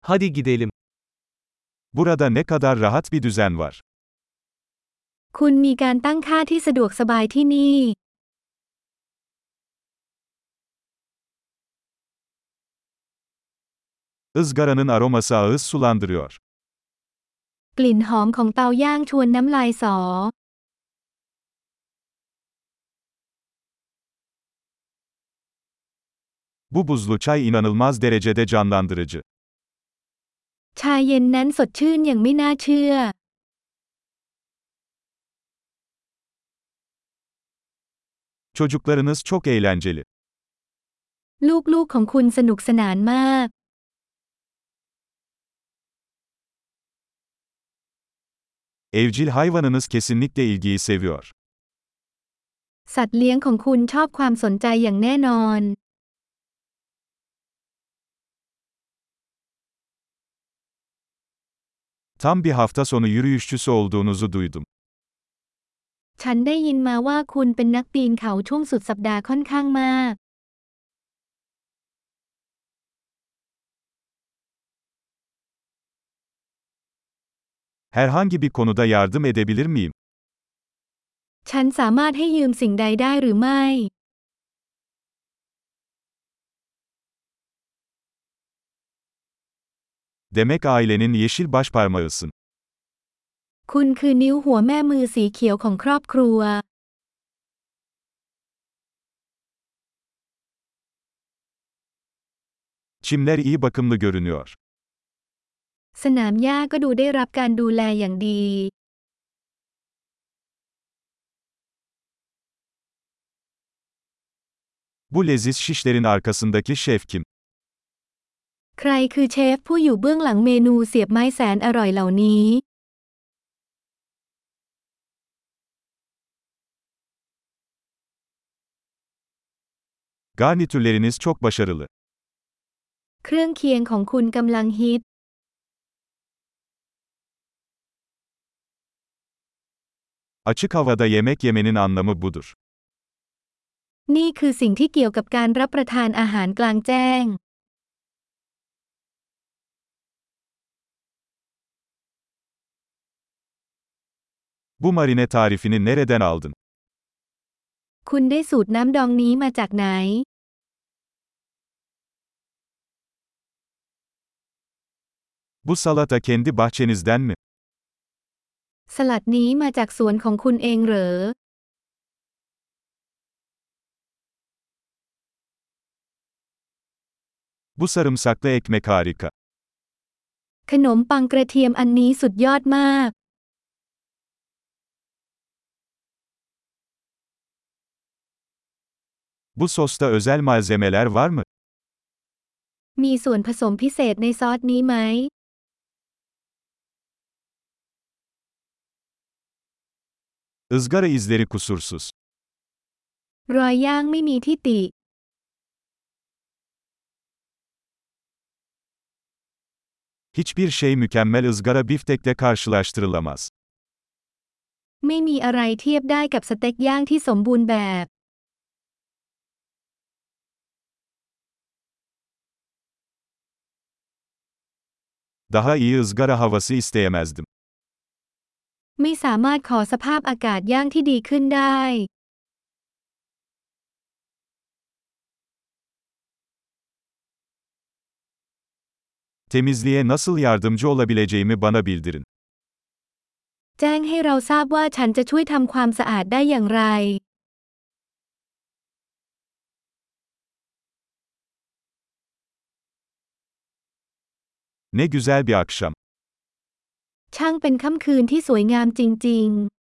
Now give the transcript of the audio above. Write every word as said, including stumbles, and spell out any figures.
Hadi gidelim. Burada ne kadar rahat bir düzen var. คุณมีการตั้งค่าที่สะดวกสบายที่นี่ Izgaranın aroması ağız sulandırıyor. กลิ่นหอมของเตาย่างชวนน้ำลายสอ Bu buzlu çay inanılmaz derecede canlandırıcı. ชาเย็นนั้นสดชื่นอย่างไม่น่าเชื่อ Çocuklarınız çok eğlenceli. ลูกๆของคุณสนุกสนานมาก Evcil hayvanınız kesinlikle ilgiyi seviyor. สัตว์เลี้ยงของคุณชอบความสนใจอย่างแน่นอน Tam bir hafta sonu yürüyüşçüsü olduğunuzu duydum. ฉันได้ยินมาว่าคุณเป็นนักปีนเขาช่วงสุดสัปดาห์ค่อนข้างมาก Herhangi bir konuda yardım edebilir miyim? ฉันสามารถให้ยืมสิ่งใดได้หรือไม่ Demek ailenin yeşil başparmağısın. คุณคือนิ้วหัวแม่มือสีเขียวของครอบครัว Çimler iyi bakımlı görünüyor. สนามหญ้าก็ดูได้รับการดูแลอย่างดี Bu leziz şişlerin arkasındaki şef kim? ใครคือเชฟผู้อยู่เบื้องหลังเมนูเสียบไม้แสนอร่อยเหล่านี้ Garnitürleriniz çok başarılı. เครื่องเคียงของคุณกำลังฮิต Açık havada yemek yemenin anlamı budur. นี่คือสิ่งที่เกี่ยวกับการรับประทานอาหารกลางแจ้ง Bu marine tarifini nereden aldın? คุณได้สูตรน้ำดองนี้มาจากไหน Bu salata kendi bahçenizden mi? สลัดนี้มาจากสวนของคุณเองเหรอ Bu sarımsaklı ekmek harika. ขนมปังกระเทียมอันนี้สุดยอดมาก Bu sosta özel malzemeler var mı? มีส่วนผสมพิเศษในซอสนี้ไหม Izgara izleri kusursuz. รอยย่างไม่มีที่ติ Hiçbir şey mükemmel ızgara biftekle karşılaştırılamaz. ไม่มีอะไรเทียบได้กับสเต็กย่างที่สมบูรณ์แบบ Daha iyi ızgara havası isteyemezdim. ไม่สามารถขอสภาพอากาศย่างที่ดีขึ้นได้ Temizliğe nasıl yardımcı olabileceğimi bana bildirin. แจ้งให้เราทราบว่าฉันจะช่วยทำความสะอาดได้อย่างไร Ne güzel bir akşam. ช่างเป็นค่ำคืนที่สวยงามจริงๆ